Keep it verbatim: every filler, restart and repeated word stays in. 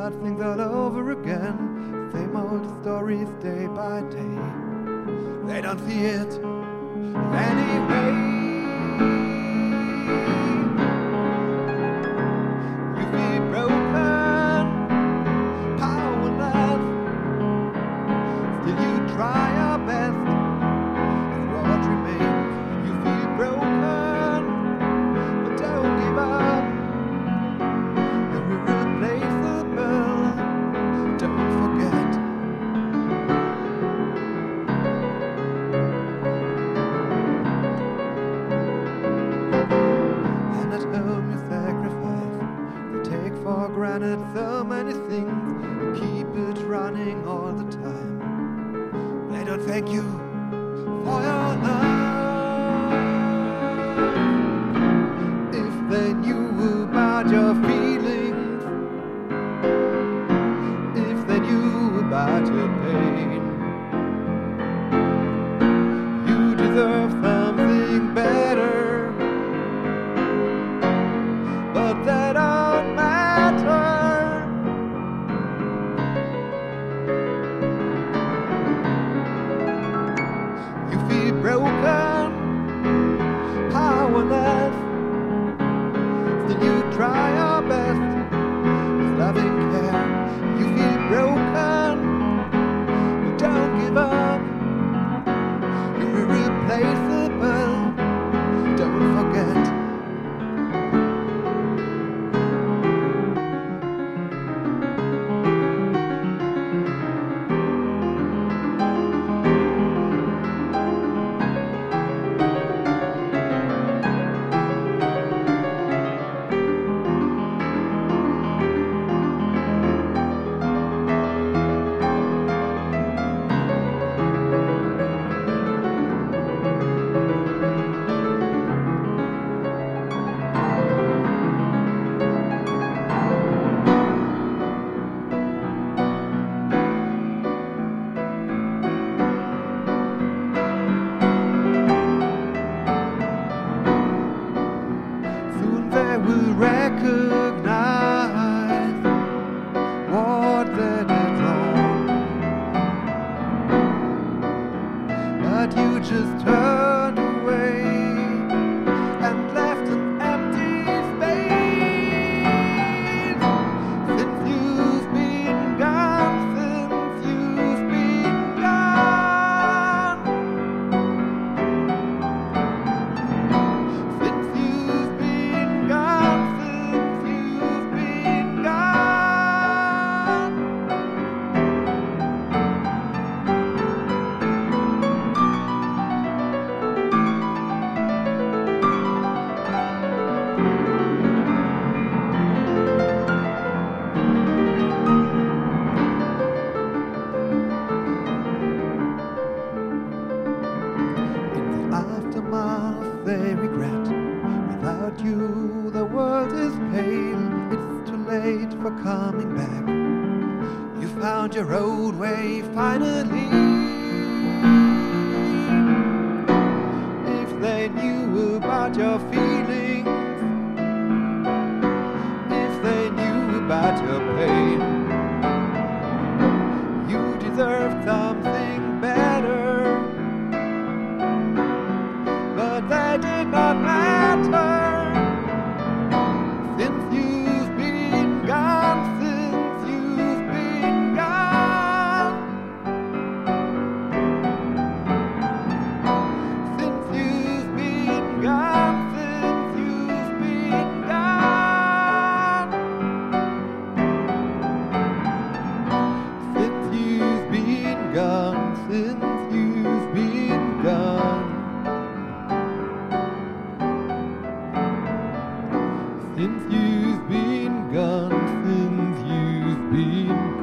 start things all over again. Same old stories day by day. They don't see it anyway. You feel broken, powerless. Still you try your best. It's what remains. You feel broken, but don't give up. You're irreplaceable. Don't forget. And at home you sacrifice. You take for granted so many things. You keep it running all the time. They don't thank you for your love. If they knew about your feelings, if they knew about your pain, you deserve something better. But that don't matter. You feel broken, powerless. Still you try your best with loving care. You feel broken, but don't give up. You're irreplaceable. Don't forget. Soon they will recognize what they did wrong. But you just turned away and left an empty space. Since you've been gone, since you've been gone, since you've been gone, since you've been gone. In the aftermath they regret. Without you the world is pale. It's too late for coming back. You found your own way finally. If they knew about your feelings, if they knew about your pain, you deserve something better. But that did not matter. Since you've been gone, since you've been gone, since you've been gone, since you've been gone, since you've been gone, since you've been gone. Since you've been gone, since you've been